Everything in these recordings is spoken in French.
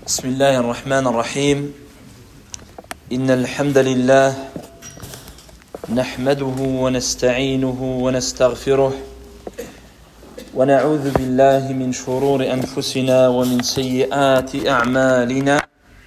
بسم الله الرحمن الرحيم إن الحمد لله نحمده ونستعينه ونستغفره ونعوذ بالله من شرور أنفسنا ومن سيئات أعمالنا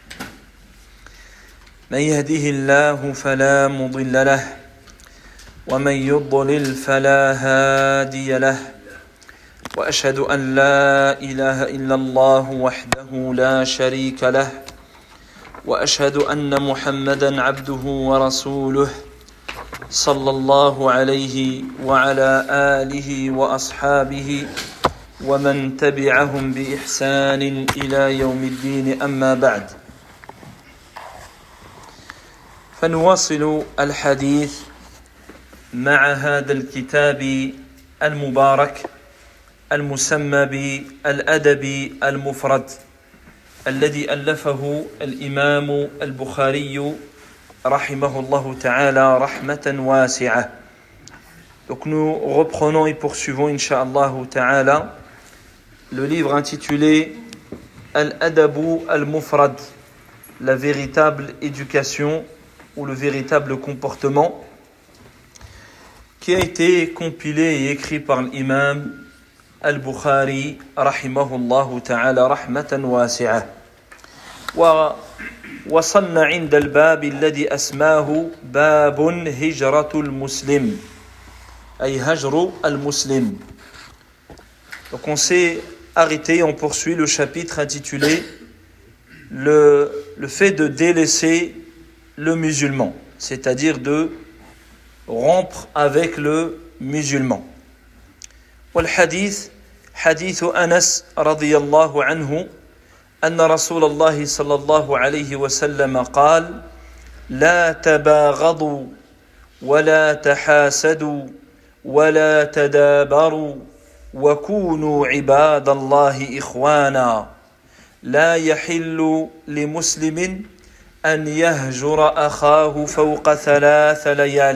من يهده الله فلا مضل له ومن يضلل فلا هادي له وأشهد أن لا إله إلا الله وحده لا شريك له وأشهد أن محمدًا عبده ورسوله صلى الله عليه وعلى آله وأصحابه ومن تبعهم بإحسان إلى يوم الدين أما بعد فنواصل الحديث مع هذا الكتاب المبارك المسمى بالأدب المفرد الذي ألفه الإمام البخاري رحمه الله تعالى رحمة واسعة. Donc nous reprenons et poursuivons Inch'Allah ta'ala le livre intitulé Al-Adabu al-Mufrad, la véritable éducation ou le véritable comportement, qui a été compilé et écrit par l'imam البخاري رحمه الله تعالى رحمة واسعة. ووصلنا عند الباب الذي أسماه باب هجرة المسلم أي هجر المسلم. Donc on s'est arrêté, on poursuit le chapitre intitulé le fait de délaisser le musulman, c'est-à-dire de rompre avec le musulman. والحديث حديث أنس رضي الله عنه أن رسول الله صلى الله عليه وسلم قال: لا تباغضوا ولا تحاسدوا ولا تدابروا وكونوا عباد الله إخوانا لا يحل لمسلم أن يهجر أخاه فوق ثلاث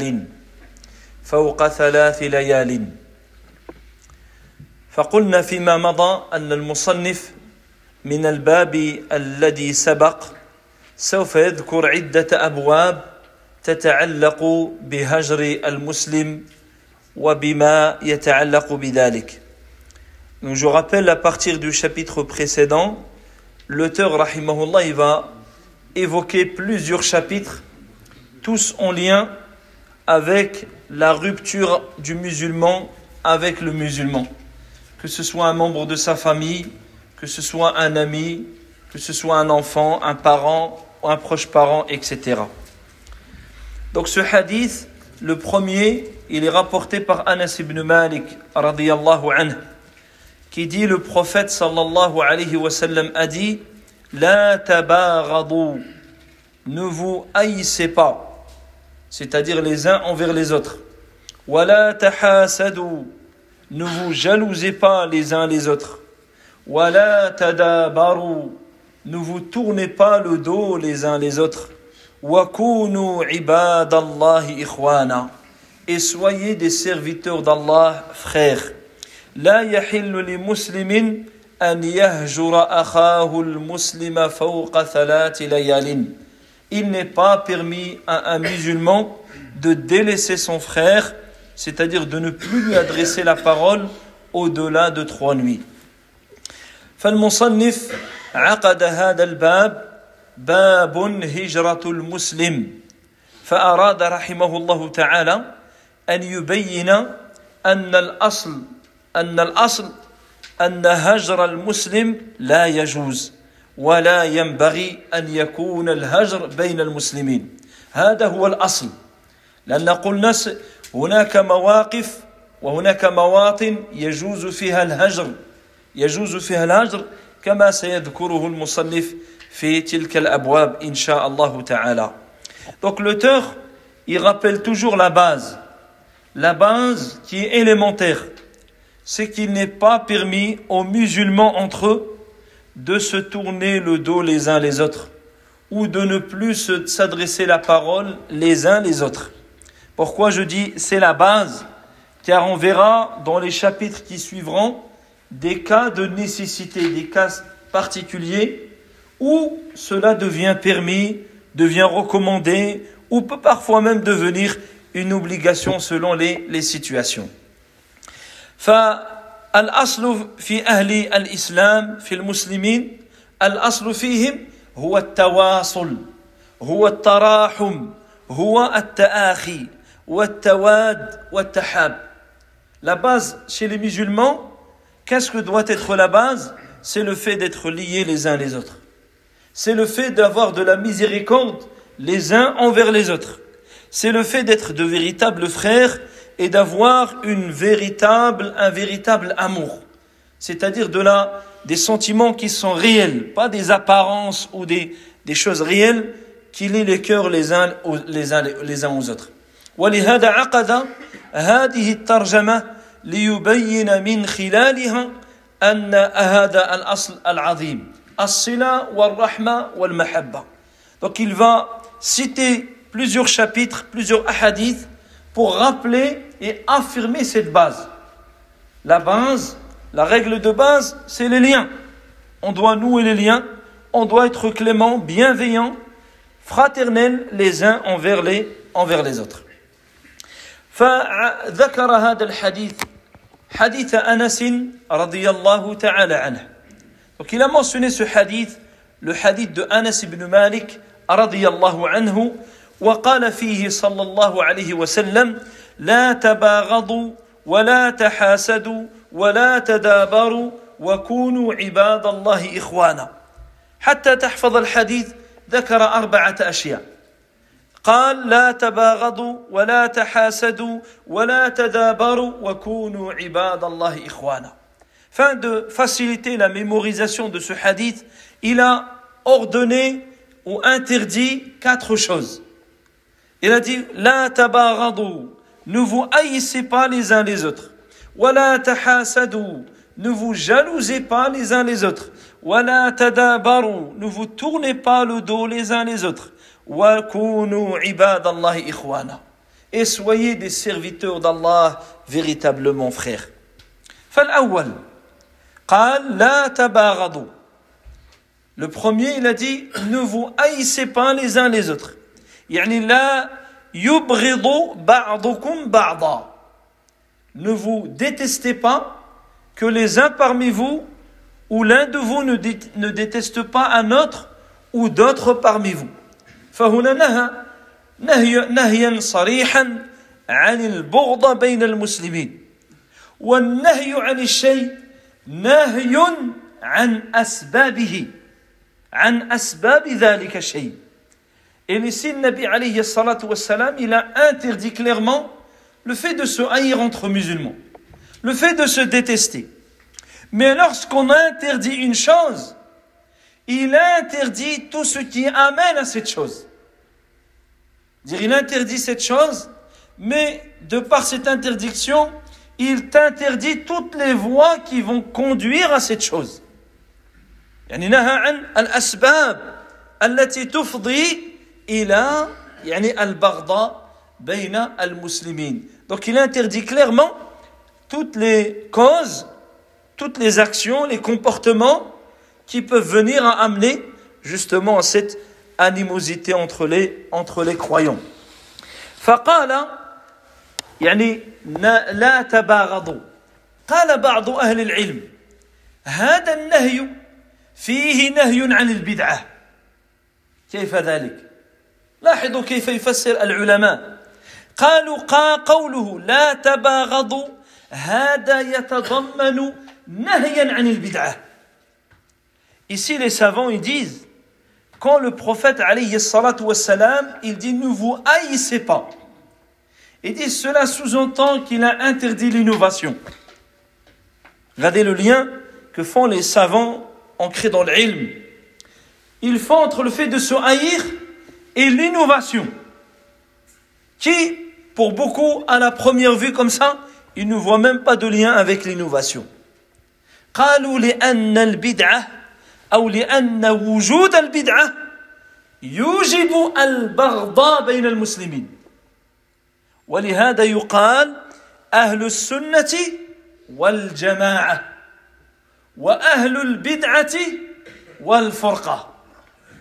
ليال. فقلنا فيما مضى أن المصنف من الباب الذي سبق سوف يذكر عدة أبواب تتعلق بهجر المسلم وبما يتعلق بذلك. Donc je rappelle, à partir du chapitre précédent, l'auteur rahimahullah il va évoquer plusieurs chapitres, tous en lien avec la rupture du musulman avec le musulman. Que ce soit un membre de sa famille, que ce soit un ami, que ce soit un enfant, un parent, un proche parent, etc. Donc ce hadith, le premier, il est rapporté par Anas ibn Malik, radiyallahu anhu, qui dit, le prophète sallallahu alayhi wa sallam a dit: La tabaghadu, ne vous haïssez pas, c'est-à-dire les uns envers les autres. Wa la tahasadu, ne vous jalousez pas les uns les autres. Wala tadabaru, ne vous tournez pas le dos les uns les autres. Wakunu ibadallahi ikhwana, et soyez des serviteurs d'Allah, frères. La yahillu li muslimin an yahjura akhahu al-muslima fawqa thalath layalin. Il n'est pas permis à un musulman de délaisser son frère, c'est-à-dire de ne plus lui adresser la parole au-delà de 3 nuits. فالمصنف عقد هذا الباب باب هجرة المسلم، فأراد رحمه الله تعالى أن يبين أن الأصل أن هجر المسلم لا يجوز ولا ينبغي أن يكون الهجر بين المسلمين. هذا هو الأصل، لأن قلنا هناك مواقف وهناك مواطن يجوز فيها الهجر كما سيذكره المصنف في تلك الأبواب إن شاء الله تعالى. Donc l'auteur, il rappelle toujours la base qui est élémentaire, c'est qu'il n'est pas permis aux musulmans entre eux de se tourner le dos les uns les autres ou de ne plus s'adresser la parole les uns les autres. Pourquoi je dis c'est la base? Car on verra dans les chapitres qui suivront des cas de nécessité, des cas particuliers ou cela devient permis, devient recommandé, ou peut parfois même devenir une obligation selon les situations. فالأصل في أهل الإسلام في المسلمين الأصل فيهم هو التواصل هو التراحم هو التآخي والتواد والتحاب. La base chez les musulmans, qu'est-ce que doit être la base? C'est le fait d'être liés les uns les autres. C'est le fait d'avoir de la miséricorde les uns envers les autres. C'est le fait d'être de véritables frères et d'avoir un véritable amour. C'est-à-dire des sentiments qui sont réels, pas des apparences ou des choses réelles qui lient les cœurs les uns aux autres. ولهذا عقد هذه الترجمة ليبين من خلالها أن هذا الأصل العظيم الصلة والرحمة والمحبة. Donc il va citer plusieurs chapitres, plusieurs hadiths pour rappeler et affirmer cette base. La base, la règle de base, c'est les liens. On doit nouer les liens, on doit être clément, bienveillant, fraternel les uns envers les autres. فذكر هذا الحديث حديث أنس رضي الله تعالى عنه. Donc il a mentionné ce hadith, le hadith de Anas ibn Malik رضي الله عنه, وقال فيه صلى الله عليه وسلم لا تباغضوا ولا تحاسدوا ولا تدابروا وكونوا عباد الله إخوانا. حتى تحفظ الحديث ذكر 4 أشياء. قال لا تباغضوا ولا تحاسدوا ولا تدابروا وكونوا عباد الله إخوانا. Afin de faciliter la mémorisation de ce hadith, il a ordonné ou interdit 4 choses. Il a dit لا تباغضوا, ne vous haïssez pas les uns les autres. ولا تحاسدوا, ne vous jalousez pas les uns les autres. ولا تدابروا, ne vous tournez pas le dos les uns les autres. وَكُونُوا عِبَادَ اللَّهِ إِخْوَانًا. Et soyez des serviteurs d'Allah véritablement frères. فالأول قال لا تباغضوا. Le premier, il a dit ne vous haïssez pas les uns les autres. يعني لا يبغض بعضكم بعضا. Ne vous détestez pas, que les uns parmi vous ou l'un de vous ne déteste pas un autre ou d'autres parmi vous. فهنا نهيا صريحا عن البغض بين المسلمين. والنهي عن الشيء نهي عن أسبابه عن أسباب ذلك الشيء. Et ici, le Nabi alayhi salatu wassalam, il a interdit clairement le fait de se haïr entre musulmans, le fait de se détester. Mais lorsqu'on interdit une chose, il interdit tout ce qui amène à cette chose. Il interdit cette chose, mais de par cette interdiction, il t'interdit toutes les voies qui vont conduire à cette chose. يعني نهى عن الأسباب التي تفضي إلى البغضاء بين المسلمين. Donc il interdit clairement toutes les causes, toutes les actions, les comportements qui peuvent venir à amener justement à cette animosité entre les croyants. فقال يعني لا تباغضوا. قال بعض أهل العلم هذا النهي فيه نهي عن البدعة. كيف ذلك؟ لاحظوا كيف يفسر العلماء. قالوا قوله لا تباغضوا هذا يتضمن نهيا عن البدعة. Ici les savants ils disent quand le prophète alayhi salatu wassalam il dit ne vous haïssez pas, il dit cela sous-entend qu'il a interdit l'innovation. Regardez le lien que font les savants ancrés dans l'ilm. Ils font entre le fait de se haïr et l'innovation, qui, pour beaucoup, à la première vue comme ça, ils ne voient même pas de lien avec l'innovation. قالوا لأن البدعة أو لأن وجود البدعة يوجب البغضاء بين المسلمين. ولهذا يقال أهل السنة والجماعة وأهل البدعة والفرقة.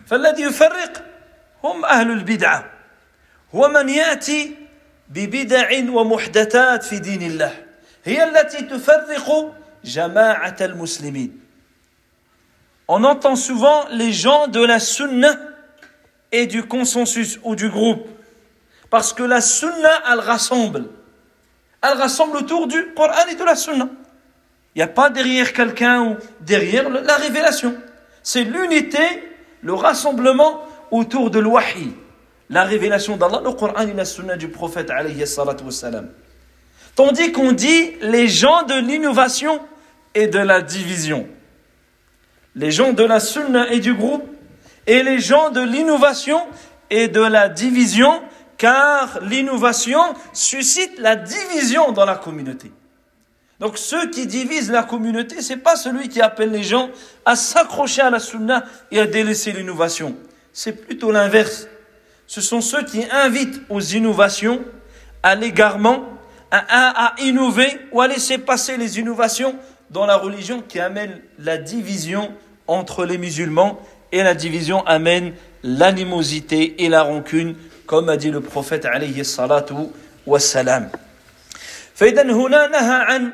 فالذي يفرق هم أهل البدعة هو من يأتي ببدع ومحدثات في دين الله هي التي تفرق جماعة المسلمين. On entend souvent les gens de la sunna et du consensus ou du groupe. Parce que la sunna, elle rassemble. Elle rassemble autour du Coran et de la sunna. Il n'y a pas derrière quelqu'un ou derrière la révélation. C'est l'unité, le rassemblement autour de l'wahi. La révélation d'Allah, le Coran et la sunna du prophète alayhi salatu wassalam. Tandis qu'on dit les gens de l'innovation et de la division. Les gens de la sunna et du groupe et les gens de l'innovation et de la division, car l'innovation suscite la division dans la communauté. Donc ceux qui divisent la communauté, c'est pas celui qui appelle les gens à s'accrocher à la sunna et à délaisser l'innovation. C'est plutôt l'inverse. Ce sont ceux qui invitent aux innovations, à l'égarement, à innover ou à laisser passer les innovations dans la religion qui amènent la division entre les musulmans, et la division amène l'animosité et la rancune, comme a dit le prophète alayhi salatu wassalam. فإذن هنا نهى عن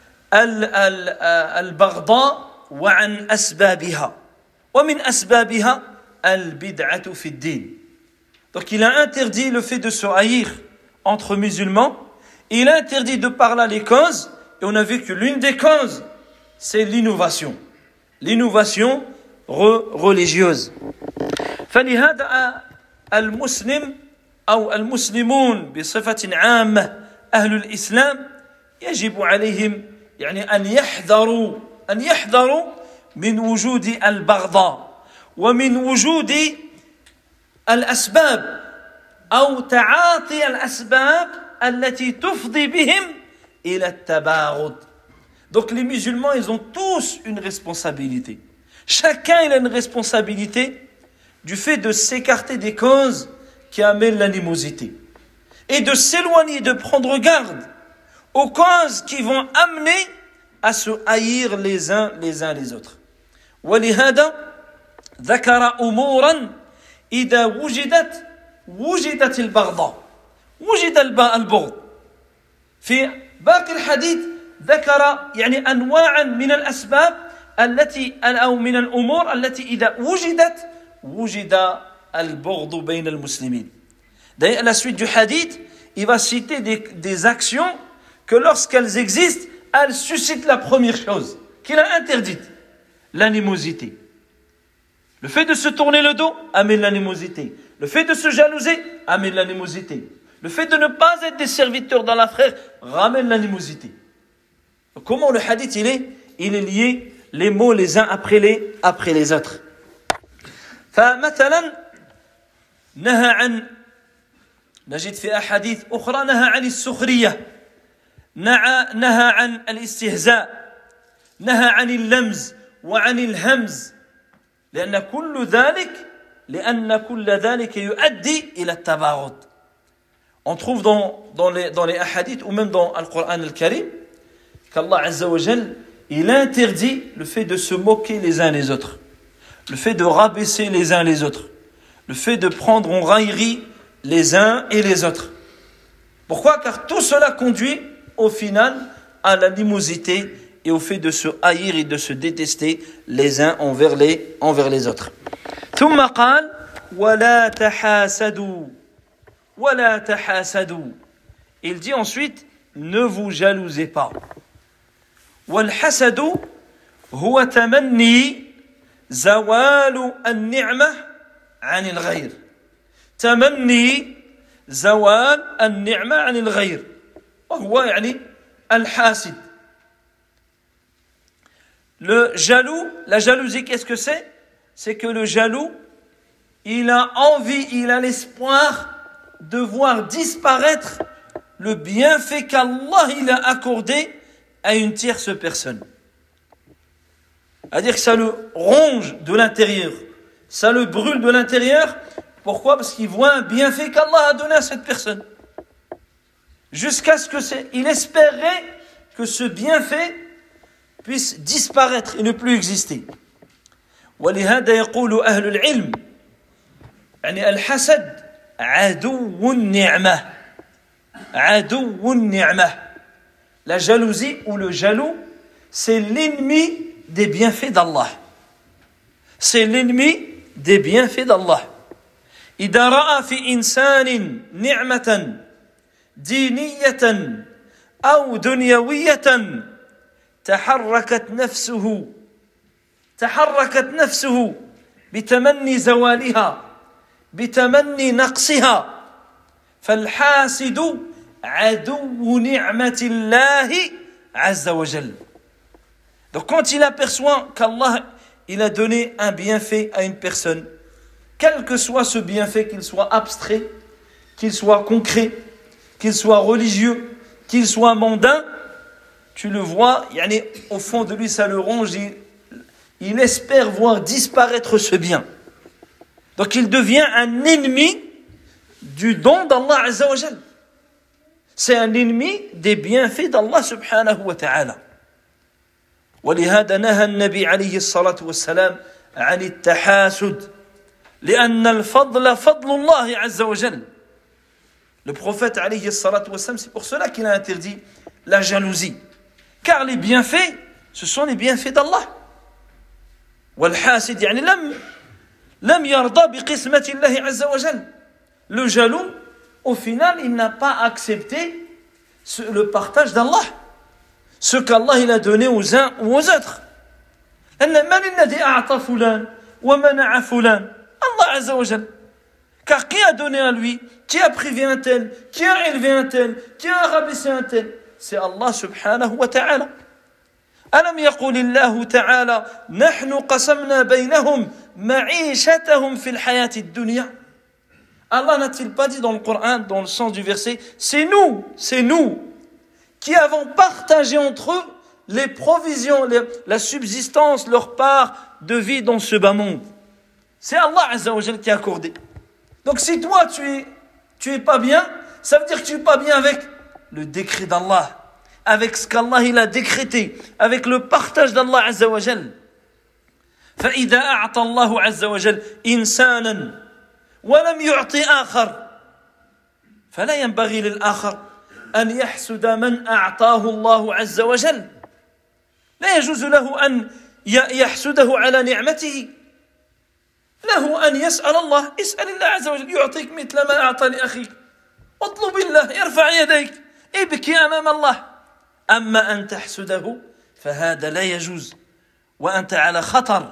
البغضاء وعن أسبابها ومن أسبابها البدعة في الدين. Donc il a interdit le fait de se haïr entre musulmans, il a interdit de par là les causes, et on a vu que l'une des causes c'est l'innovation religieuse. فلهذا المسلم أو المسلمون بصفة عامة أهل الإسلام يجب عليهم أن يحذروا من وجود البغضاء ومن وجود الأسباب أو تعاطي الأسباب التي تفضي بهم إلى التباغض. Donc les musulmans, ils ont tous une responsabilité. Chacun il a une responsabilité du fait de s'écarter des causes qui amènent l'animosité et de s'éloigner, de prendre garde aux causes qui vont amener à se haïr les uns les autres. ولهذا ذكر أمورا إذا وجدت البغضاء وجد البغض. في باقي الحديث ذكر أنواعا من الأسباب التي أو من الأمور التي إذا وجد البغض بين المسلمين. D'ailleurs, à la suite du hadith, il va citer des actions que lorsqu'elles existent, elles suscitent la première chose qu'il a interdite, l'animosité. Le fait de se tourner le dos amène l'animosité. Le fait de se jalouser amène l'animosité. Le fait de ne pas être des serviteurs dans la frère ramène l'animosité. Comment le hadith il est lié les mots les uns après les autres. فمثلا نجد في أحاديث أخرى نهى عن السخرية، نهى عن الاستهزاء، نهى عن اللمز وعن الهمز، لأن كل ذلك يؤدي إلى التباغض. On trouve dans les hadiths ou même dans le Coran al-Karim qu'Allah Azza wa Jal il interdit le fait de se moquer les uns les autres, le fait de rabaisser les uns les autres, le fait de prendre en raillerie les uns et les autres. Pourquoi? Car tout cela conduit au final à l'animosité et au fait de se haïr et de se détester les uns envers les autres. ثم قال ولا تحاسدوا ولا تحاسدوا. Il dit ensuite ne vous jalousez pas. والحسد هو تمني زوال النعمة عن الغير. تمني زوال النعمة عن الغير وهو الحاسد. Le jaloux, la jalousie, qu'est-ce que c'est? C'est que le jaloux, il a envie, il a l'espoir de voir disparaître le bienfait qu'Allah il a accordé à une tierce personne. C'est-à-dire que ça le ronge de l'intérieur, ça le brûle de l'intérieur. Pourquoi? Parce qu'il voit un bienfait qu'Allah a donné à cette personne. Jusqu'à ce il espérait que ce bienfait puisse disparaître et ne plus exister. ولهذا يقول أهل العلم يعني الحسد عدو النعمة عدو النعمة. La jalousie ou le jaloux, c'est l'ennemi des bienfaits d'Allah. C'est l'ennemi des bienfaits d'Allah. إذا رأى في إنسان نعمة دينية أو دنيوية تحركت نفسه بتمني زوالها بتمني نقصها فالحاسد عدو نعمة الله عز وجل. Donc quand il aperçoit qu'Allah il a donné un bienfait à une personne, quel que soit ce bienfait, qu'il soit abstrait, qu'il soit concret, qu'il soit religieux, qu'il soit mondain, tu le vois, au fond de lui ça le ronge, il espère voir disparaître ce bien. Donc il devient un ennemi du don d'Allah Azza wa Jal. C'est un ennemi des bienfaits d'Allah subhanahu wa ta'ala. ولهذا نهى النبي عليه الصلاة والسلام عن التحاسد لأن الفضل فضل الله عز وجل. Le prophète عليه الصلاة والسلام, c'est pour cela qu'il a interdit la jalousie. Car les bienfaits, ce sont les bienfaits d'Allah. والحاسد يعني لم يرضى بقسمة الله عز وجل. Le jaloux, au final, il n'a pas accepté le partage d'Allah. Ce qu'Allah il a donné aux uns ou aux autres. من الذي أعطى فلان ومنع فلان؟ Allah Azza wa Jal. Car qui a donné à lui? Qui a privé un tel? Qui a élevé un tel? Qui a rabaissé un tel? C'est Allah subhanahu wa ta'ala. ألم يقل الله تعالى نحن قسمنا بينهم معيشتهم في الحياة الدنيا. Allah n'a-t-il pas dit dans le Coran, dans le sens du verset, c'est nous qui avons partagé entre eux les provisions, la subsistance, leur part de vie dans ce bas monde. C'est Allah Azza wa Jal qui a accordé. Donc si toi tu es pas bien, ça veut dire que tu es pas bien avec le décret d'Allah, avec ce qu'Allah il a décrété, avec le partage d'Allah Azza wa Jal. فإذا أعطى الله عز وجل إنسانا ولم يعطي آخر فلا ينبغي للآخر أن يحسد من أعطاه الله عز وجل. لا يجوز له أن يحسده على نعمته. له أن يسأل الله، اسأل الله عز وجل يعطيك مثل ما أعطى لأخيك، اطلب الله، يرفع يديك، ابكي أمام الله. أما أن تحسده فهذا لا يجوز وأنت على خطر.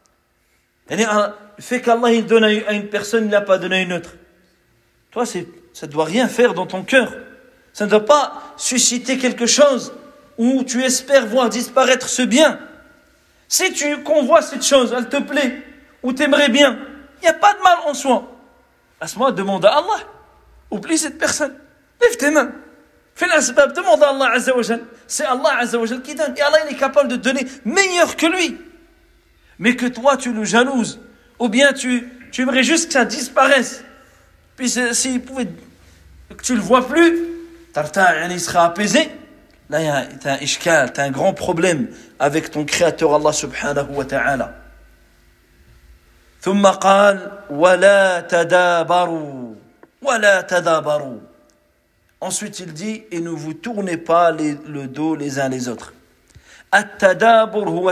Le fait qu'Allah il donne à une personne, il n'a pas donné à une autre. Toi, ça ne doit rien faire dans ton cœur. Ça ne doit pas susciter quelque chose où tu espères voir disparaître ce bien. Si tu convoites cette chose, elle te plaît, ou t'aimerais bien, il n'y a pas de mal en soi. À ce moment, demande à Allah. Oublie cette personne. Lève tes mains. Fais l'asbab, demande à Allah Azza wa Jal. C'est Allah Azza wa Jal qui donne. Et Allah, il est capable de donner meilleur que lui. Mais que toi, tu le jalouses. Ou bien tu aimerais juste que ça disparaisse. Puis s'il pouvait, que tu le vois plus, il sera apaisé. Là, tu as un ishkal, tu as un grand problème avec ton créateur Allah subhanahu wa ta'ala. ثم قال ولا تدابروا ولا تدابروا. Ensuite il dit et ne vous tournez pas le dos les uns les autres. التدابر هو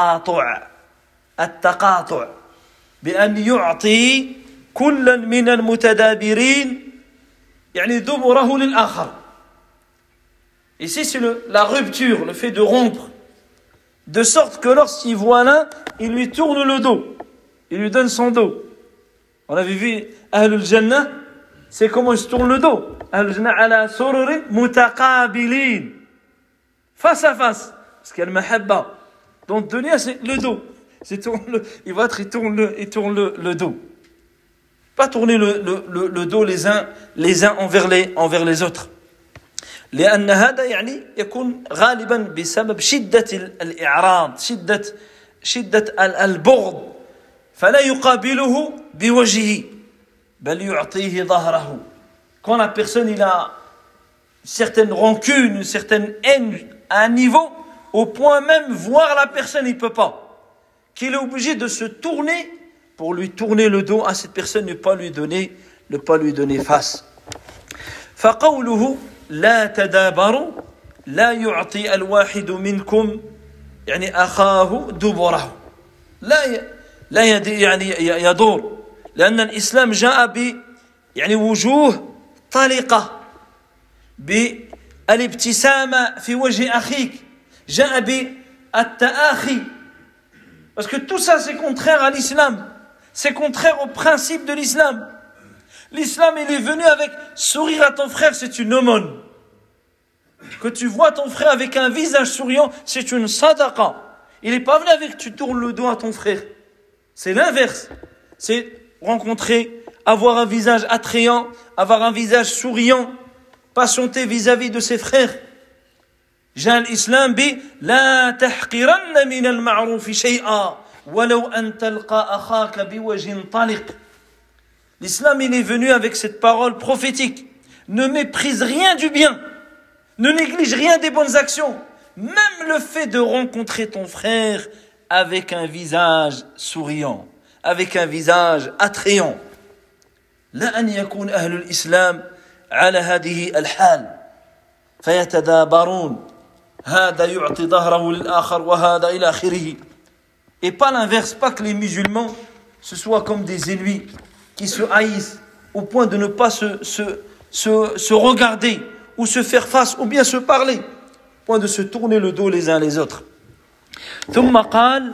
التقاطع بأن يعطي كل من المتدابرين يعني دبره للآخر. Ici c'est la rupture, le fait de rompre, de sorte que lorsqu'il voit l'un, il lui tourne le dos, il lui donne son dos. On avait vu Ahlul Jannah, c'est comment il se tourne le dos. Ahlul Jannah ala sururin mutaqabilin, face à face, parce qu'il y a le mahabba. Donc dunya c'est le dos. Il tourne le dos. Pas tourner le dos les uns envers les autres. لأن هذا يعني يكون غالبا بسبب شدة الإعراض، شدة البغض، فلا يقابله بوجهه بل يعطيه ظهره. Quand la personne il a une certaine rancune, une certaine haine à un niveau, au point même voir la personne il peut pas, qu'il est obligé de se tourner pour lui tourner le dos à cette personne, ne pas lui donner face. فقوله لا تدابروا لا يعطي الواحد منكم يعني أخاه دبره لا يعني يدور لأن الإسلام جاء يعني وجوه طلقة بالابتسامة في وجه أخيك جاء بالتآخي parce que tout ça c'est contraire à l'islam, c'est contraire au principe de l'islam. L'islam il est venu avec sourire à ton frère, c'est une aumône. Que tu vois ton frère avec un visage souriant, c'est une sadaqa. Il n'est pas venu avec tu tournes le dos à ton frère. C'est l'inverse. C'est rencontrer, avoir un visage attrayant, avoir un visage souriant, patienter vis-à-vis de ses frères. جاء الإسلام لا تحقرن من المعروف شيئا ولو أن تلقى أخاك بوجه طلق. L'islam il est venu avec cette parole prophétique. Ne méprise rien du bien. Ne néglige rien des bonnes actions. Même le fait de rencontrer ton frère avec un visage souriant, avec un visage attrayant. لا أن يكون أهل الإسلام على هذه الحال فيتدابرون هذا يعطي ظهره للآخر وهذا إلى آخره. Et pas l'inverse, pas que les musulmans ce soient comme des ennemis qui se haïssent au point de ne pas se regarder ou se faire face ou bien se parler, au point de se tourner le dos les uns les autres. ثم قال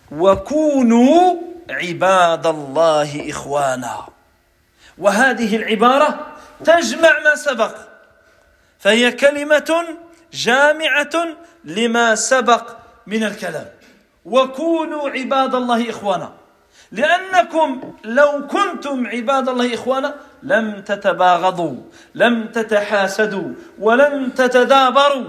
وكونوا عباد الله إخوانا. وهذه العبارة تجمع ما سبق فهي كلمة جامعة لما سبق من الكلام. وكونوا عباد الله إخوانا لأنكم لو كنتم عباد الله إخوانا لم تتباغضوا لم تتحاسدوا ولم تتدابروا.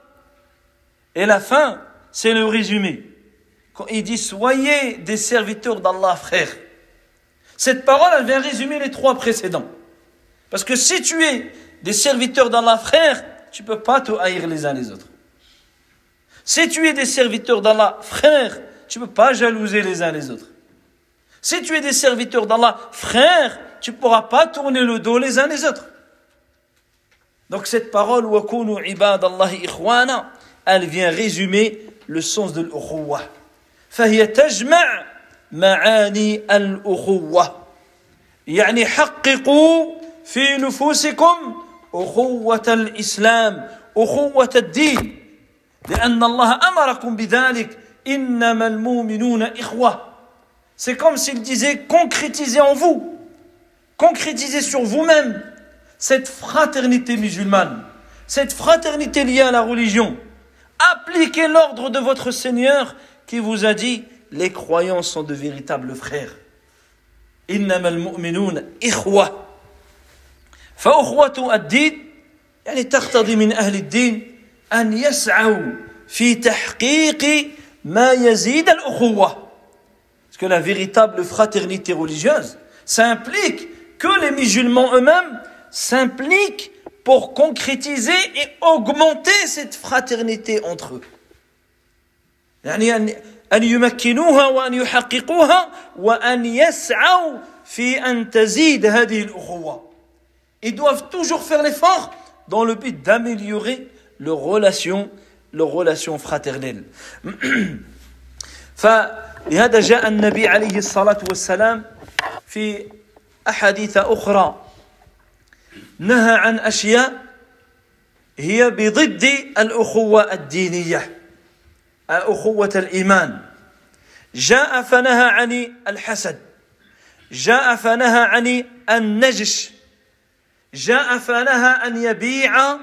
Et la fin, c'est le résumé. Quand il dit soyez des serviteurs d'Allah frères. Cette parole, elle vient résumer les trois précédents. Parce que si tu es des serviteurs d'Allah frères, tu ne peux pas te haïr les uns les autres. Si tu es des serviteurs d'Allah frères, tu ne peux pas jalouser les uns les autres. Si tu es des serviteurs d'Allah frères, tu ne pourras pas tourner le dos les uns les autres. Donc cette parole, وَكُونُوا عِبَادَ اللَّهِ إِخْوَانًا, elle vient résumer le sens de l'ukhuwa. فهي تجمع معاني الأخوة. يعني حققوا في نفوسكم أخوة الإسلام أخوة الدين لأن الله أمركم بذلك إنما المؤمنون إخوة. C'est comme s'il disait concrétisez en vous, concrétisez sur vous-même cette fraternité musulmane, cette fraternité liée à la religion. Appliquez l'ordre de votre Seigneur qui vous a dit les croyants sont de véritables frères. إنما المؤمنون إخوة. فأخوة الدين يعني تقتضي من أهل الدين أن يسعوا في تحقيق ما يزيد الأخوة. Parce que la véritable fraternité religieuse, ça implique que les musulmans eux-mêmes s'impliquent pour concrétiser et augmenter cette fraternité entre eux. يعني أن يمكنوها وأن يحققوها وأن يسعوا في أن تزيد هذه الأخوة. Ils doivent toujours faire l'effort dans le but d'améliorer leurs relations fraternelles. فلهذا جاء النبي عليه الصلاة والسلام في أحاديث أخرى نهى عن أشياء هي بضد الأخوة الدينية أخوة الإيمان. جاء فنهى عن الحسد، جاء فنهى عن النجش، جاء فنهى أن يبيع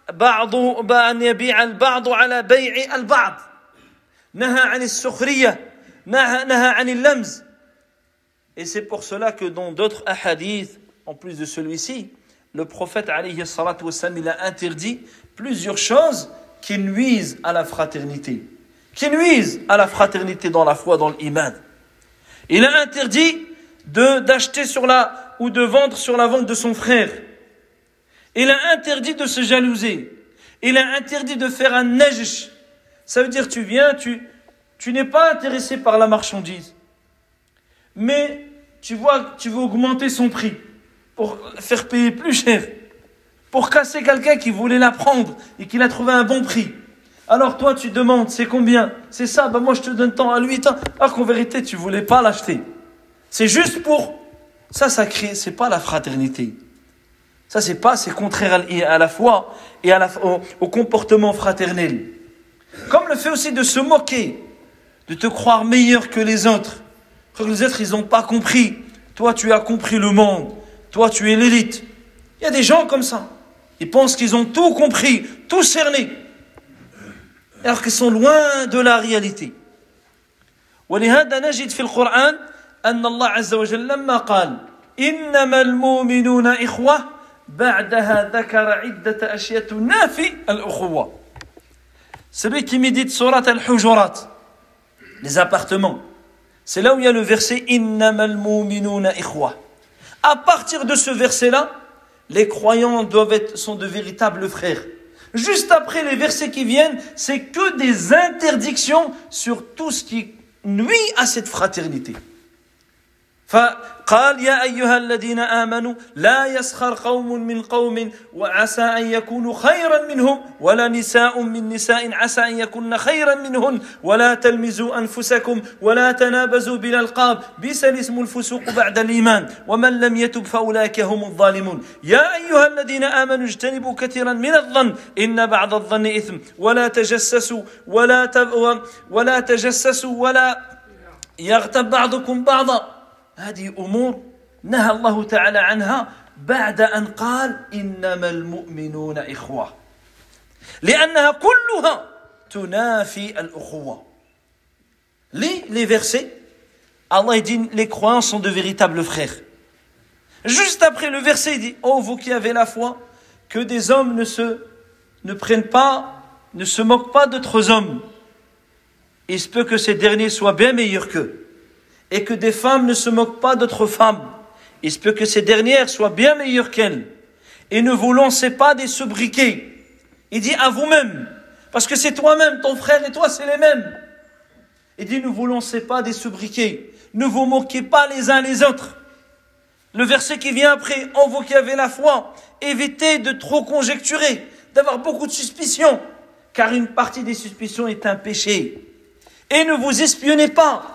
البعض على بيع البعض، نهى عن السخرية، نهى عن اللمز. Et c'est pour cela que dans d'autres hadiths, en plus de celui-ci, le prophète alayhi salatu wassalam, il a interdit plusieurs choses qui nuisent à la fraternité, qui nuisent à la fraternité dans la foi, dans l'iman. Il a interdit d'acheter ou de vendre sur la vente de son frère. Il a interdit de se jalouser. Il a interdit de faire un najsh. Ça veut dire tu viens, tu n'es pas intéressé par la marchandise. mais tu veux augmenter son prix pour faire payer plus cher, pour casser quelqu'un qui voulait la prendre et qui l'a trouvé à un bon prix. Alors toi tu demandes, c'est combien? C'est ça, moi je te donne tant, à lui tant. Alors qu'en vérité tu voulais pas l'acheter. C'est juste pour... Ça crée, c'est pas la fraternité. Ça c'est contraire à la foi et au comportement fraternel. Comme le fait aussi de se moquer, de te croire meilleur que les autres. Que les autres ils n'ont pas compris. Toi tu as compris le monde. Toi tu es l'élite. Il y a des gens comme ça. Ils pensent qu'ils ont tout compris, tout cerné. Alors qu'ils sont loin de la réalité. ولهذا نجد في القرآن أن الله عز وجل لما قال إنما المؤمنون إخوة بعدها ذكر عدة أشياء تنافي الأخوة. Celui qui médite Surat al-Hujurat, les appartements, c'est là où il y a le verset إنما المؤمنون إخوة. À partir de ce verset-là, les croyants sont de véritables frères. Juste après les versets qui viennent, c'est que des interdictions sur tout ce qui nuit à cette fraternité. فقال يا أيها الذين آمنوا لا يسخر قوم من قوم وعسى أن يكونوا خيرا منهم ولا نساء من نساء عسى أن يكون خيرا منهن ولا تلمزوا أنفسكم ولا تنابزوا بالألقاب بئس الاسم الفسوق بعد الإيمان ومن لم يتب فأولئك هم الظالمون يا أيها الذين آمنوا اجتنبوا كثيرا من الظن إن بعض الظن إثم ولا تجسسوا ولا يغتب بعضكم بعضا. هذه أمور نهى الله تعالى عنها بعد أن قال إنما المؤمنون إخوة لأنها كلها تنافي الأخوة. Les versets, Allah dit les croyants sont de véritables frères. Juste après le verset, il dit oh vous qui avez la foi, que des hommes ne se moquent pas d'autres hommes. Il se peut que ces derniers soient bien meilleurs qu'eux. Et que des femmes ne se moquent pas d'autres femmes. Il se peut que ces dernières soient bien meilleures qu'elles. Et ne vous lancez pas des sobriquets. Il dit à vous-même, parce que c'est toi-même, ton frère et toi c'est les mêmes. Il dit ne vous lancez pas des sobriquets. Ne vous moquez pas les uns les autres. Le verset qui vient après, oh vous qui avez la foi, évitez de trop conjecturer, d'avoir beaucoup de suspicions, car une partie des suspicions est un péché. Et ne vous espionnez pas.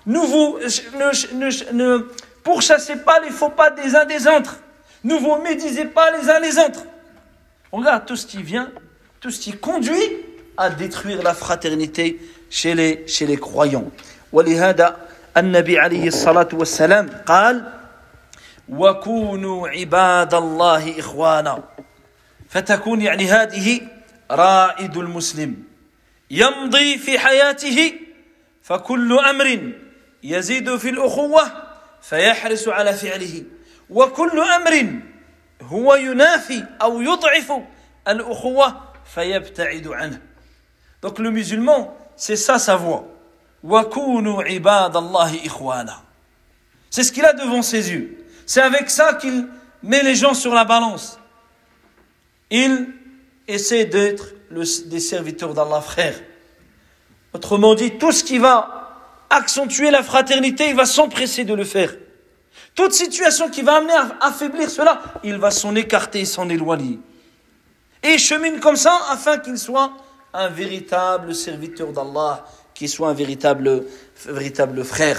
Ne pourchassez pas les faux pas des uns des autres. Ne vous médisez pas les uns les autres. Regarde tout ce qui vient, tout ce qui conduit à détruire la fraternité chez les croyants. ولهذا النبي عليه الصلاة والسلام قال وكونوا عباد الله إخوانا فتكون يعني هذه رائد المسلم يمضي في حياته فكل أمر يزيد في الأخوة فيحرص على فعله وكل أمر هو ينافي أو يضعف الأخوة فيبتعد عنه. Donc le musulman, c'est ça sa voie. وَكُونُوا عِبَادَ اللَّهِ إِخْوَانًا. C'est ce qu'il a devant ses yeux. C'est avec ça qu'il met les gens sur la balance. Il essaie d'être des serviteurs d'Allah, frère. Autrement dit, tout ce qui va accentuer la fraternité, il va s'empresser de le faire. Toute situation qui va amener à affaiblir cela, il va s'en écarter, s'en éloigner. Et il chemine comme ça afin qu'il soit un véritable serviteur d'Allah, qu'il soit un véritable frère.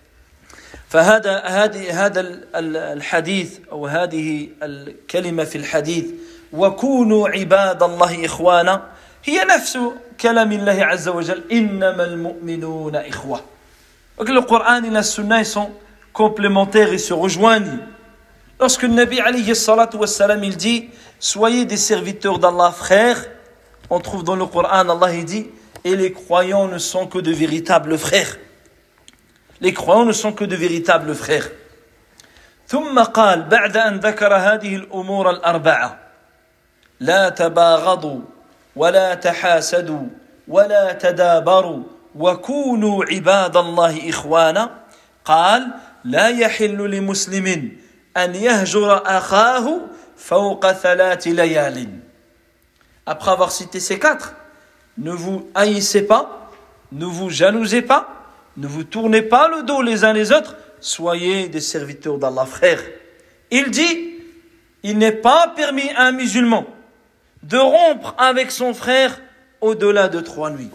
فهذا الحديث أو هذه الكلمة في الحديث وكونوا عباد الله إخوانا هي نفس كلام الله عز وجل إنما المؤمنون إخوة. Donc le Coran et la Sunna ils sont complémentaires et se rejoignent. Lorsque le Nabi alayhi salatu wassalam il dit soyez des serviteurs d'Allah frères, on trouve dans le Coran Allah il dit et les croyants ne sont que de véritables frères. Les croyants ne sont que de véritables frères. ثم قال بعد أن ذكر هذه الأمور الأربعة لا تباغضوا ولا تحاسدوا ولا تدابروا وكونوا عباد الله إخوانا قال لا يحل لمسلم أن يهجر أخاه فوق 3 ليال. Après avoir cité ces 4, ne vous haïssez pas, ne vous jalousez pas, ne vous tournez pas le dos les uns les autres soyez des serviteurs d'Allah. Frère, il dit, il n'est pas permis à un musulman de rompre avec son frère au-delà de 3 nuits.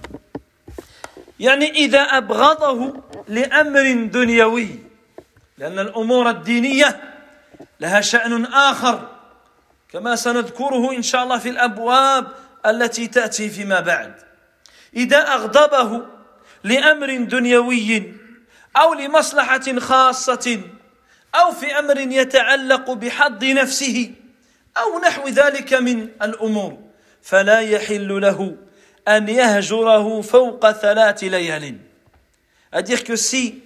يعني إذا أبغضه لأمر دنيوي لأن الأمور الدينية لها شأن آخر كما سنذكره إن شاء الله في الأبواب التي تأتي فيما بعد. إذا أغضبه لأمر دنيوي أو لمصلحة خاصة أو في أمر يتعلق بحظ نفسه أو نحو ذلك من الأمور فلا يحل له أن يهجره فوق 3 ليال. C'est-à-dire que si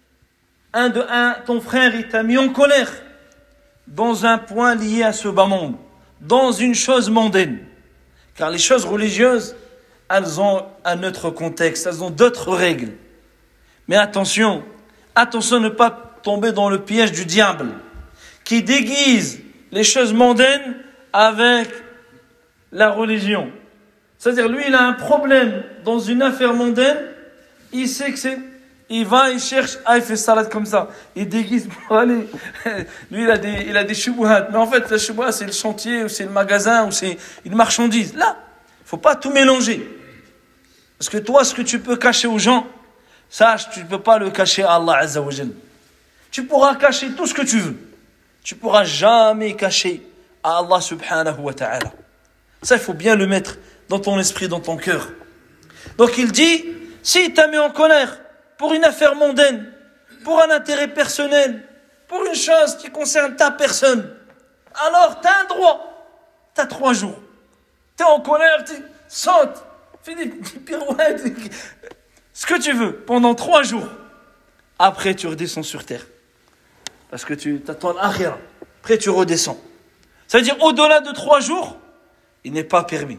ton frère il t'a mis en colère dans un point lié à ce bas monde, dans une chose mondaine, car les choses religieuses, elles ont un autre contexte, elles ont d'autres règles. Mais attention de ne pas tomber dans le piège du diable, qui déguise les choses mondaines avec la religion. C'est-à-dire, lui, il a un problème dans une affaire mondaine, il sait que c'est... Il va, il cherche, il fait salade comme ça, il déguise pour aller... Lui, il a des shubuhat, mais en fait, la shubuhat, c'est le chantier, ou c'est le magasin, ou c'est une marchandise. Là, il ne faut pas tout mélanger. Parce que toi, ce que tu peux cacher aux gens, sache, tu ne peux pas le cacher à Allah Azza wa Jal. Tu pourras cacher tout ce que tu veux. Tu ne pourras jamais cacher à Allah subhanahu wa ta'ala. Ça, il faut bien le mettre dans ton esprit, dans ton cœur. Donc il dit, si tu as mis en colère pour une affaire mondaine, pour un intérêt personnel, pour une chose qui concerne ta personne, alors tu as un droit. Tu as 3 jours. Tu es en colère, tu sautes, fais des pirouettes, ce que tu veux, pendant 3 jours. Après, tu redescends sur terre. Parce que tu t'attends l'akhira. Après, tu redescends. Ça veut dire, au-delà de 3 jours, il n'est pas permis.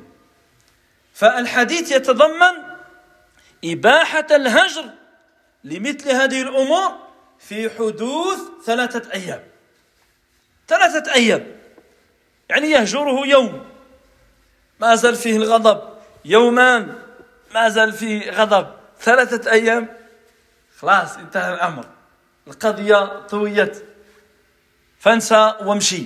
فالحديث يتضمن إباحة الهجر لمثل هذه الأمور في حدوث 3 أيام. 3 أيام. يعني يهجره يوم ما زال فيه الغضب، يومان ما زال فيه غضب، 3 أيام خلاص انتهى الأمر، القضية طويت، فانسى وامشي.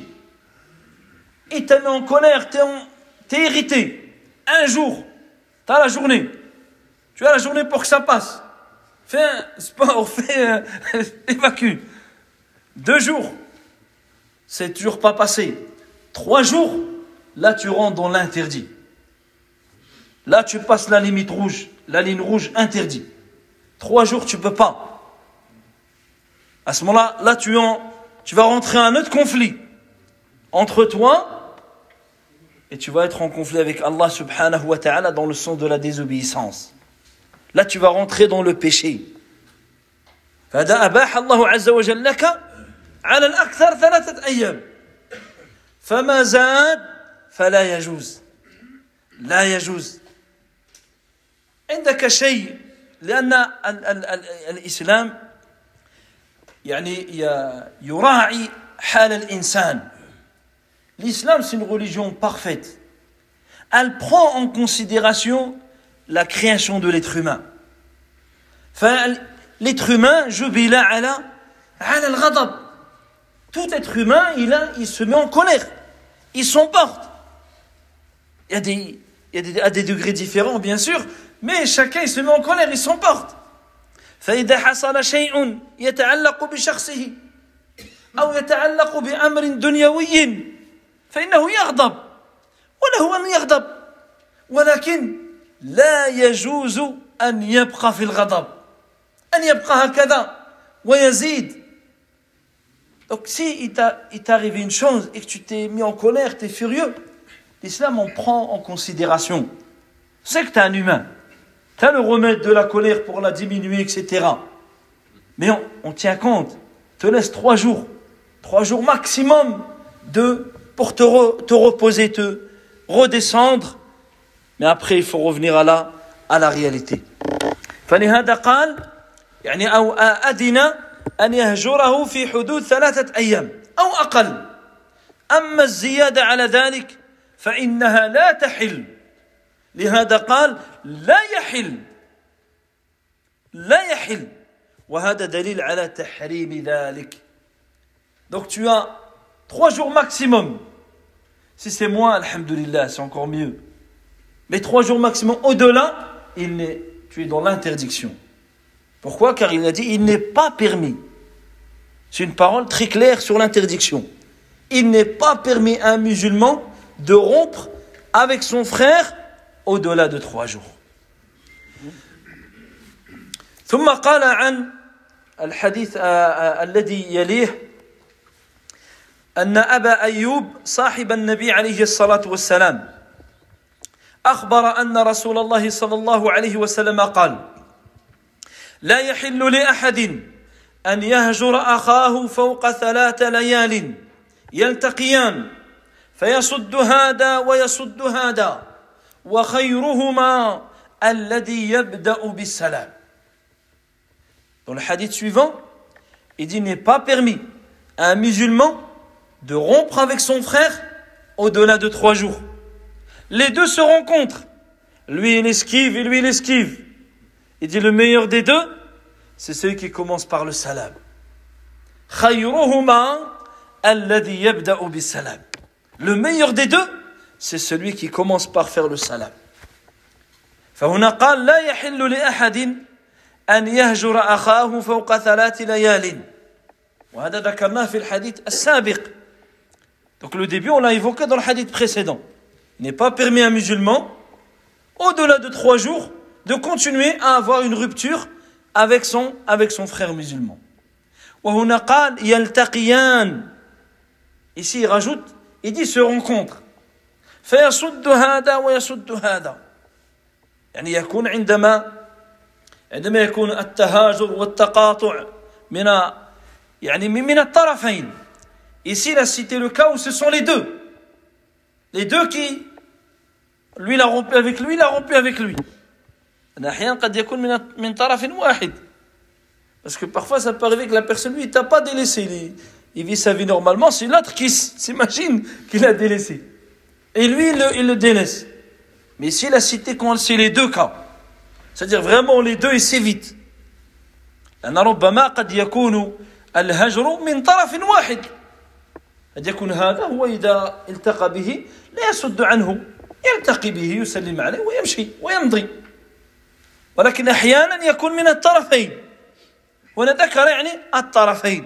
Et t'es en colère, t'es irrité. Un jour, tu as la journée. Tu as la journée pour que ça passe. Fais un sport, évacue. 2 jours, c'est toujours pas passé. 3 jours, là tu rentres dans l'interdit. Là tu passes la limite rouge, la ligne rouge interdit. 3 jours, tu peux pas. À ce moment-là, là tu vas rentrer en un autre conflit entre toi et tu vas être en conflit avec Allah subhanahu wa ta'ala dans le sens de la désobéissance. Là, tu vas rentrer dans le péché. فَهَذَا أَبَاحَ اللَّهُ عَزَّ وَجَلَّ لَكَ عَلَى الْأَكْثَرِ 3 أيام. فَمَا زَادَ فَلَا يَجُوزُ. لا يجوز. عندك شيء لأن الإسلام يعني يراعي حال الإنسان. L'islam, c'est une religion parfaite. Elle prend en considération la création de l'être humain. L'être humain, jubila ala al-ghadab. Tout être humain, il se met en colère. Il s'emporte. Il y a des degrés différents, bien sûr, mais chacun, il se met en colère, il s'emporte. فإذا حصل شيء يتعلق بشخصه أو يتعلق بأمر دنيوي فإنه يغضب وله أن يغضب ولكن لا يجوز أن يبقى في الغضب أن يبقى هكذا ويزيد. Donc si il t'est arrivé une chose et que tu t'es mis en colère, tu es furieux, l'islam en prend en considération. C'est que tu es un humain. Tu as le remède de la colère pour la diminuer, etc. Mais on tient compte. Te laisse 3 jours. 3 jours maximum pour te reposer, te redescendre. Mais après, il faut revenir à la réalité. فلهذا قال يعني أو أدن أن يهجره في حدود 3 أيام أو أقل. أما الزيادة على ذلك فإنها لا تحل. لهذا قال لا يحل وهذا دليل على تحريم ذلك. Donc tu as 3 jours maximum. Si c'est moins, alhamdoulilah, c'est encore mieux. Mais 3 jours maximum. Au-delà, tu es dans l'interdiction. Pourquoi? Car il a dit, il n'est pas permis. C'est une parole très claire sur l'interdiction. Il n'est pas permis à un musulman de rompre avec son frère au-delà de 3 jours. ثم قال عن الحديث الذي يليه أن أبا أيوب صاحب النبي عليه الصلاة والسلام أخبر أن رسول الله صلى الله عليه وسلم قال لا يحل لأحد أن يهجر أخاه فوق 3 ليال يلتقيان فيصد هذا ويصد هذا وخيرهما الذي يبدأ بالسلام. Dans le hadith suivant, il dit, il n'est pas permis à un musulman de rompre avec son frère au-delà de 3 jours. Les deux se rencontrent. Lui, il esquive et lui, il esquive. Il dit, le meilleur des deux, c'est celui qui commence par le salam. خيرهما الذي يبدأ بالسلام. Le meilleur des deux, c'est celui qui commence par faire le salam. فهنا قال لا يحل لأحد أن يهجر أخاه فوق 3 ليال. وهذا ذكرناه في الحديث السابق. Donc le début, on l'a évoqué dans le hadith précédent. Il n'est pas permis à un musulman, au-delà de 3 jours, de continuer à avoir une rupture avec son frère musulman. وهنا قال يلتقيان. Ici, il rajoute, il dit se rencontre. فيصد هذا ويصد هذا. يعني يكون عندما يكون التهاجر والتقاطع من الطرفين. Ici, il a cité le cas où ce sont les deux. Les deux qui, lui, il a rompu avec lui, il a rompu avec lui. أحيانا قد يكون من طرف واحد. Parce que parfois, ça peut arriver que la personne, lui, il t'a pas délaissé. Il vit sa vie normalement, c'est l'autre qui s'imagine qu'il a délaissé. Et lui, il le délaisse. Mais ici, il a cité quand c'est les deux cas. C'est-à-dire vraiment les deux, et c'est vite. لأن ربما قد يكون الهجر من طرف واحد. قد يكون هذا هو إذا التقى به لا يصد عنه، يلتقي به يسلم عليه ويمشي ويمضي. ولكن أحيانا يكون من الطرفين. ونذكر الطرفين.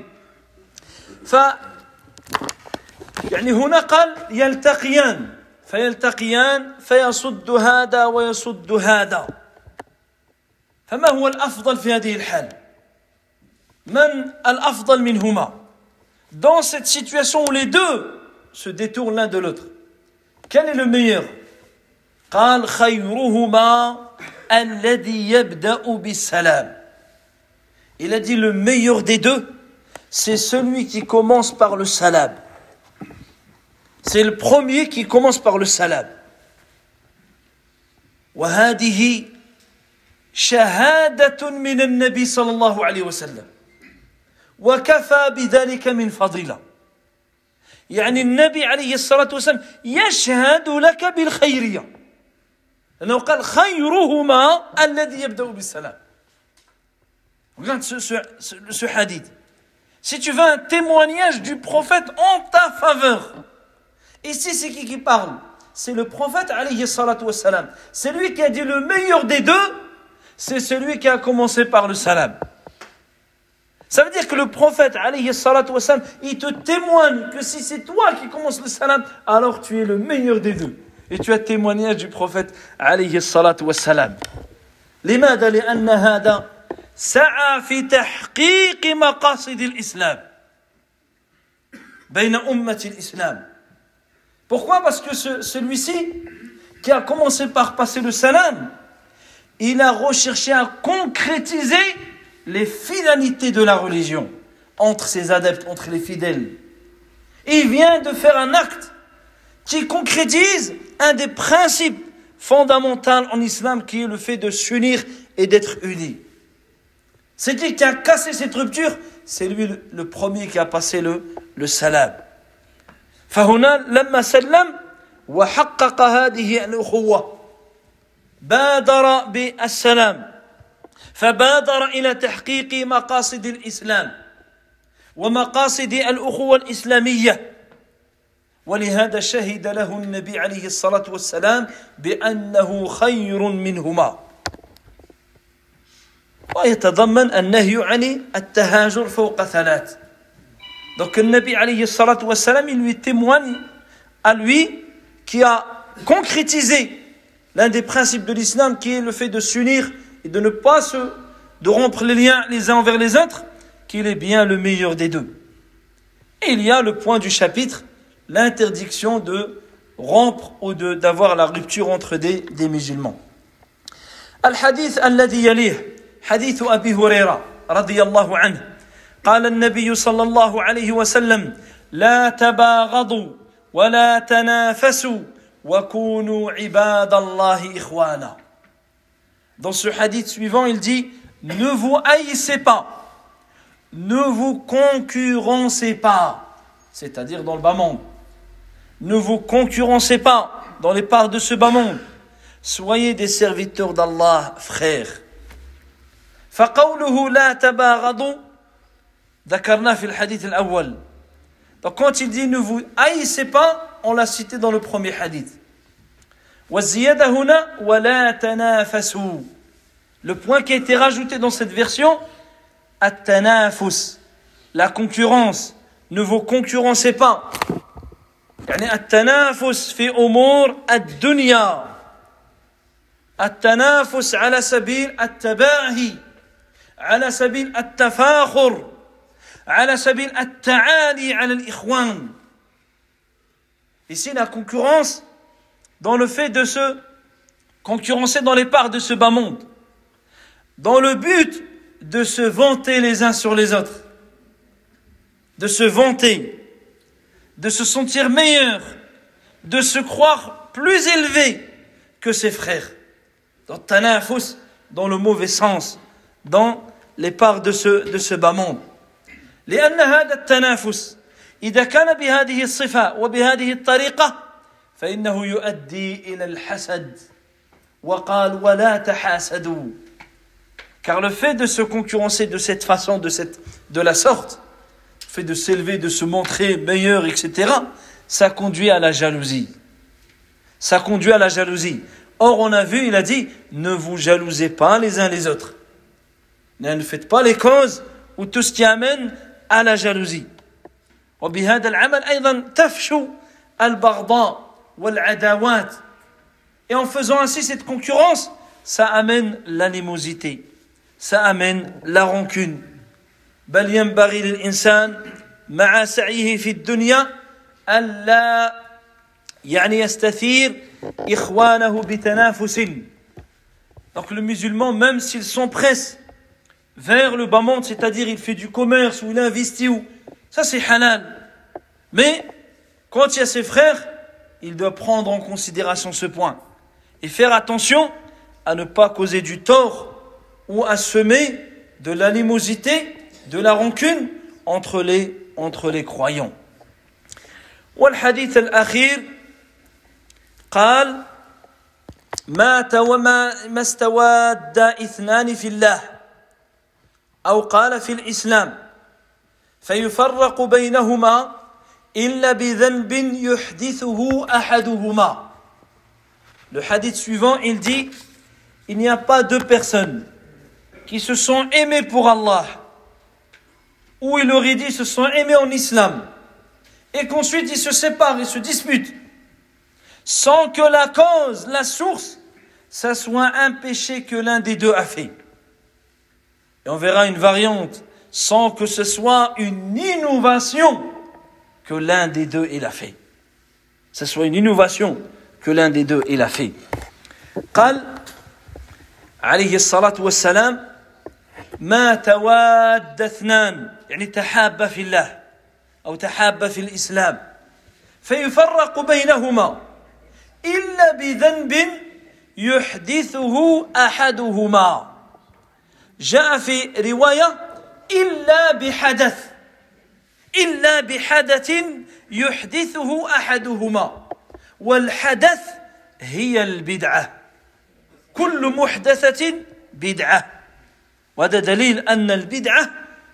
هنا قال يلتقيان فيلتقيان فيصد هذا ويصد هذا. فما هو الأفضل في هذه الحال؟ من الأفضل منهما؟ Dans cette situation où les deux se détournent l'un de l'autre, quel est le meilleur? قال خيرهما الذي يبدأ بالسلام. Il a dit le meilleur des deux, c'est celui qui commence par le salam. C'est le premier qui commence par le salam. وهذه شهادة من النبي صلى الله عليه وسلم وكفى بذلك من فضيلة. النبي عليه الصلاة والسلام يشهد لك بالخيرية لأنه قال خيرهما الذي يبدأ بالسلام. Regarde ce hadith. Si tu veux un témoignage du prophète en ta faveur, ici c'est qui parle? C'est le prophète alayhi salatu wassalam. C'est lui qui a dit le meilleur des deux, c'est celui qui a commencé par le salam. Ça veut dire que le prophète alayhi salatu wassalam, il te témoigne que si c'est toi qui commences le salam, alors tu es le meilleur des deux. Et tu as témoignage du prophète alayhi salatu wassalam. لماذا؟ لأن هذا سعى في تحقيق مقاصد الإسلام بين أمة الإسلام. Pourquoi? Parce que celui-ci, qui a commencé par passer le salam, il a recherché à concrétiser les finalités de la religion entre ses adeptes, entre les fidèles. Et il vient de faire un acte qui concrétise un des principes fondamentaux en islam, qui est le fait de s'unir et d'être unis. C'est qui a cassé cette rupture, c'est lui le premier qui a passé le salam. فهنا لما سلم وحقق هذه الأخوة بادر بالسلام فبادر إلى تحقيق مقاصد الإسلام ومقاصد الأخوة الإسلامية ولهذا شهد له النبي عليه الصلاة والسلام بأنه خير منهما ويتضمن النهي عن التهاجر فوق ثلاث. Donc le Nabi alayhi salatu wassalam, il lui témoigne à lui qui a concrétisé l'un des principes de l'islam qui est le fait de s'unir et de ne pas de rompre les liens les uns envers les autres, qu'il est bien le meilleur des deux. Et il y a le point du chapitre, l'interdiction de rompre ou d'avoir la rupture entre des musulmans. Al-hadith alladhi yalih, hadith Abi Huraira radiyallahu anhu. قال النبي صلى الله عليه وسلم لا تباغضوا ولا تنافسوا وكونوا عباد الله إخوانا. Dans ce hadith suivant, il dit ne vous haïssez pas, ne vous concurrencez pas, c'est-à-dire dans le bas monde. Ne vous concurrencez pas dans les parts de ce bas monde. Soyez des serviteurs d'Allah, frères. فقوله لا تباغضوا ذكرنا في الحديث الأول. Donc quand il dit ne vous haïssez pas, on l'a cité dans le premier hadith. والزيادة هنا ولا تنافسوا. Le point qui a été rajouté dans cette version, التنافس, la concurrence. Ne vous concurrencez pas. يعني التنافس في أمور الدنيا. التنافس على سبيل التباهي, على سبيل التفاخر, على سبيل التعالي على الإخوان. Ici, la concurrence dans le fait de se concurrencer dans les parts de ce bas monde, dans le but de se vanter les uns sur les autres, de se vanter, de se sentir meilleur, de se croire plus élevé que ses frères. Dans tanafus, dans le mauvais sens, dans les parts de ce bas monde. لأن هذا التنافس إذا كان بهذه الصفة وبهذه الطريقة فإنه يؤدي إلى الحسد وقال ولا تحاسدوا. Car le fait de se concurrencer de cette façon, de la sorte, le fait de s'élever, de se montrer meilleur, etc., ça conduit à la jalousie. Ça conduit à la jalousie. Or, on a vu, il a dit, ne vous jalousez pas les uns les autres. Ne faites pas les causes ou tout ce qui amène à la jalousie. وبهذا العمل أيضا تفشو البغضاء والعداوات. Et en faisant ainsi cette concurrence, ça amène l'animosité, ça amène la rancune. بل ينبغي للإنسان مع سعيه في الدنيا ألا يعني يستثير إخوانه بتنافس. Donc le musulman, même s'il s'empresse vers le bas monde, c'est-à-dire il fait du commerce ou il investit, ça c'est halal. Mais quand il y a ses frères, il doit prendre en considération ce point et faire attention à ne pas causer du tort ou à semer de l'animosité, de la rancune entre les croyants. والحديث الأخير قال ما استواد اثنان في الله أو قال في الإسلام فيفرق بينهما إلا بذنب يحدثه أحدهما. Le hadith suivant, il dit, il n'y a pas deux personnes qui se sont aimées pour Allah, ou il aurait dit se sont aimées en islam, et qu'ensuite ils se séparent et se disputent, sans que la cause, la source, ça soit un péché que l'un des deux a fait. Et on verra une variante, sans que ce soit une innovation que l'un des deux il a fait. Ce soit une innovation que l'un des deux il a fait. قال عليه الصلاة والسلام ما تواد اثنان يعني تحابا في الله أو تحابا في الإسلام فيفرق بينهما إلا بذنب يحدثه أحدهما. جاء في رواية إلا بحدث يحدثه أحدهما. والحدث هي البدعة. كل محدثة بدعة. وهذا دليل أن البدعة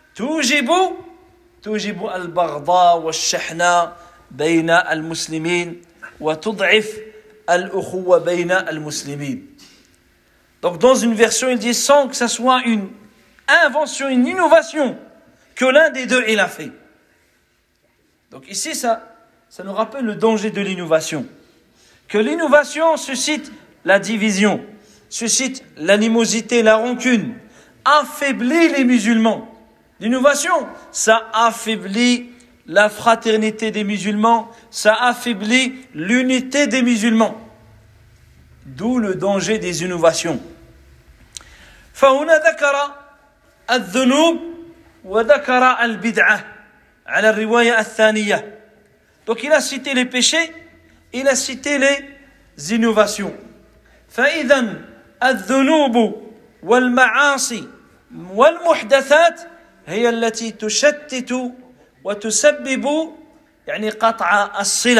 توجب البغضاء والشحناء بين المسلمين وتضعف الأخوة بين المسلمين. Donc dans une version il dit sans que ça soit une invention, une innovation que l'un des deux il a fait. Donc ici ça nous rappelle le danger de l'innovation. Que l'innovation suscite la division, suscite l'animosité, la rancune, affaiblit les musulmans. L'innovation, ça affaiblit la fraternité des musulmans, ça affaiblit l'unité des musulmans. D'où le danger des innovations. فهنا ذكر الذنوب وذكر البدعة على الرواية الثانية. Donc il a cité les péchés, il a cité les innovations. فإذا الذنوب والمعاصي والمحدثات هي التي تشتت وتسبب يعني قطع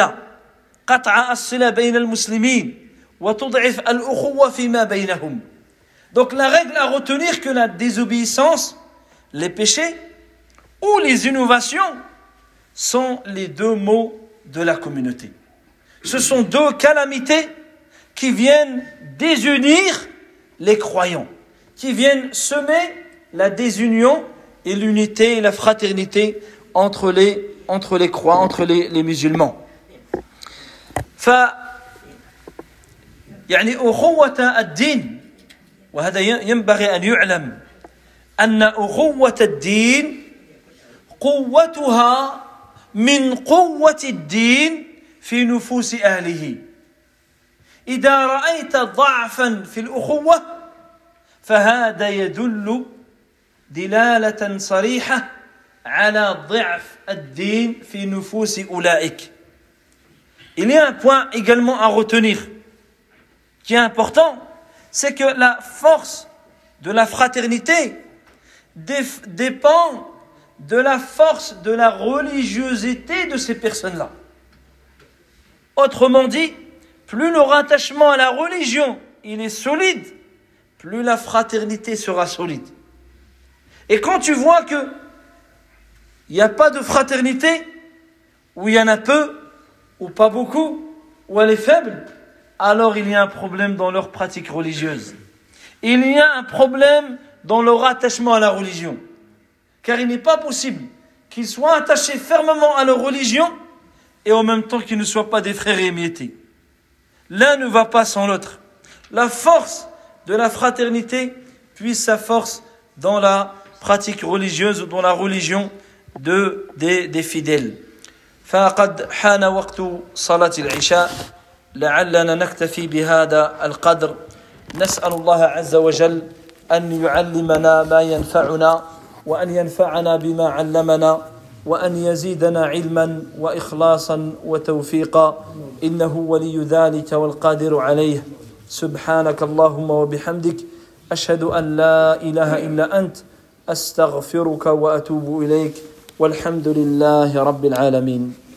الصلة بين المسلمين وتضعف الأخوة فيما بينهم. Donc la règle à retenir que la désobéissance, les péchés ou les innovations sont les deux maux de la communauté. Ce sont deux calamités qui viennent désunir les croyants, qui viennent semer la désunion et l'unité et la fraternité entre les croyants, entre les musulmans. يعني أخوة الدين وهذا ينبغي أن يعلم أن أخوة الدين قوتها من قوة الدين في نفوس أهله. إذا رأيت ضعفا في الأخوة فهذا يدل دلالة صريحة على ضعف الدين في نفوس أولئك. Il y a un point également à retenir qui est important, c'est que la force de la fraternité dépend de la force de la religiosité de ces personnes-là. Autrement dit, plus leur attachement à la religion il est solide, plus la fraternité sera solide. Et quand tu vois que il n'y a pas de fraternité, ou il y en a peu, ou pas beaucoup, ou elle est faible, alors il y a un problème dans leur pratique religieuse. Il y a un problème dans leur attachement à la religion. Car il n'est pas possible qu'ils soient attachés fermement à leur religion et en même temps qu'ils ne soient pas des frères émiettés. L'un ne va pas sans l'autre. La force de la fraternité puise sa force dans la pratique religieuse, dans la religion des fidèles. فقد حان وقت صلاة العشاء لعلنا نكتفي بهذا القدر. نسأل الله عز وجل أن يعلمنا ما ينفعنا وأن ينفعنا بما علمنا وأن يزيدنا علما وإخلاصا وتوفيقا إنه ولي ذلك والقادر عليه. سبحانك اللهم وبحمدك أشهد أن لا إله إلا أنت أستغفرك وأتوب إليك والحمد لله رب العالمين.